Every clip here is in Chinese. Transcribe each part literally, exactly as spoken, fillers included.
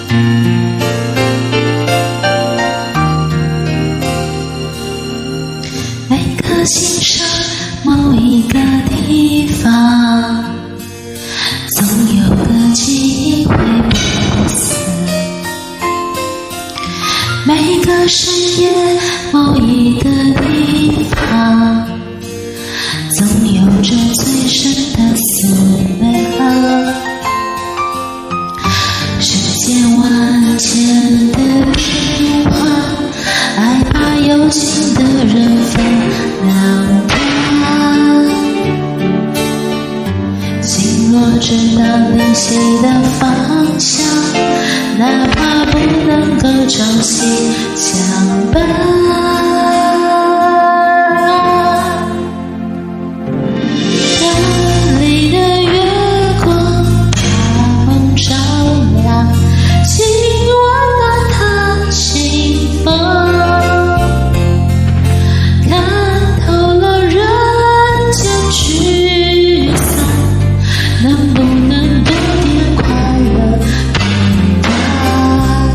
每顆心上某一個地方，總有個記憶會不死。每個深夜某一個地方，總有着最深的思量。世間萬千的變化，愛把有情的人分兩端。心若知道靈犀的方向，哪怕不能夠朝夕相伴。夜裡的月光把夢照亮，請溫暖他心房。看透了人間聚散，能不能多點快樂片段？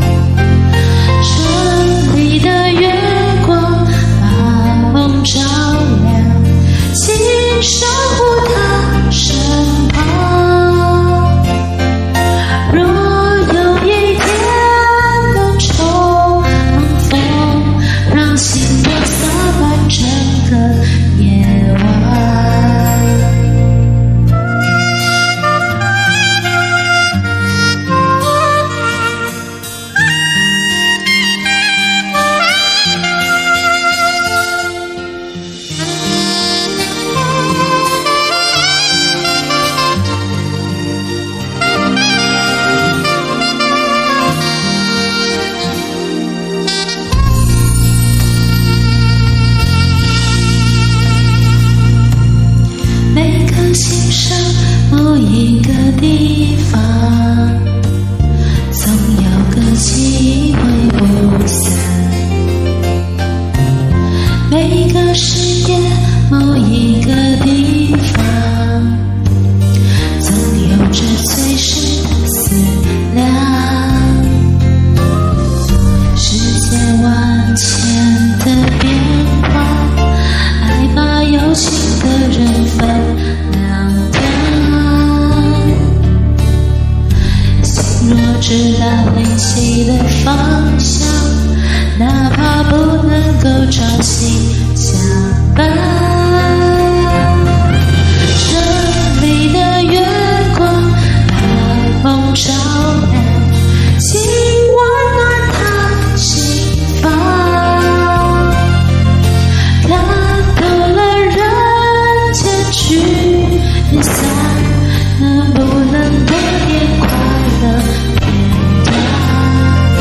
城裡的月光把夢照亮，請守護他身旁。若有一天能重逢，讓心朵灑滿整個夜晚。每顆心上某一個地方，總有個記憶會不散。每個深夜某一個地方，總有着最深的思量。世間萬千的變化，愛把有情的人分兩端。心若知道靈犀的方向，哪怕不能夠朝夕相伴。城裡的月光把夢照亮，請溫暖他心房。看透了人間聚散，能不能多點快樂片段？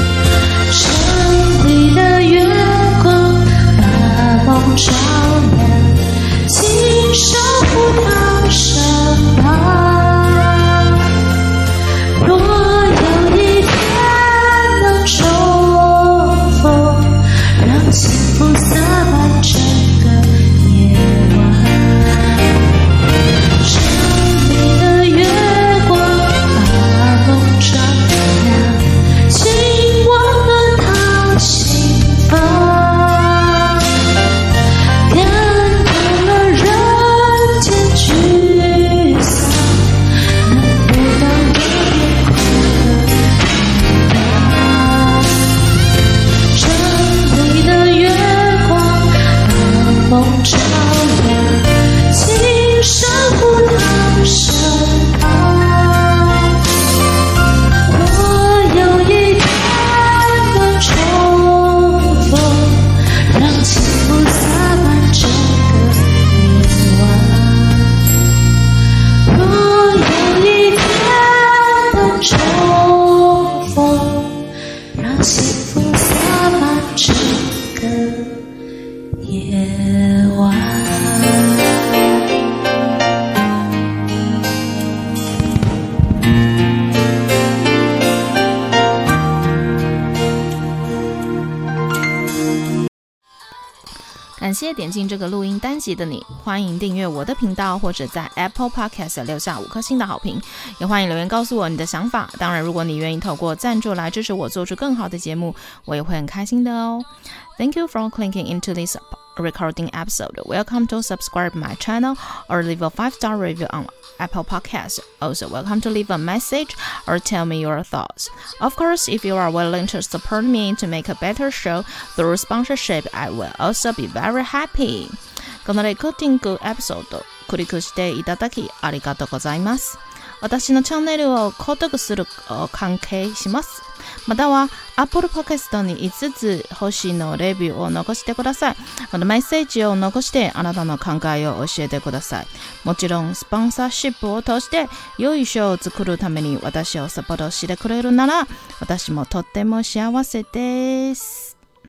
城裡的月光把夢照亮，請守護他身旁。 感謝點進這個錄音單集的你，歡迎訂閱我的頻道，或者在 Apple Podcast 留下五顆星的好評，也歡迎留言告訴我你的想法。當然，如果你願意透過贊助來支持我做出更好的節目，我也會很開心的哦。Thank you for clicking into this recording episode. Welcome to subscribe my channel or leave a five-star review on Apple Podcasts. Also, welcome to leave a message or tell me your thoughts. Of course, if you are willing to support me to make a better show through sponsorship, I will also be very happy. このレコーディングエピソード、クリックしていただきありがとうございます。私のチャンネルを購読する関係します。または Apple Podcast にいつつ星のレビューを残してください。またメッセージを残してあなたの考えを教えてください。もちろんスポンサーシップを通して良いショーを作るために私をサポートしてくれるなら私もとっても幸せです。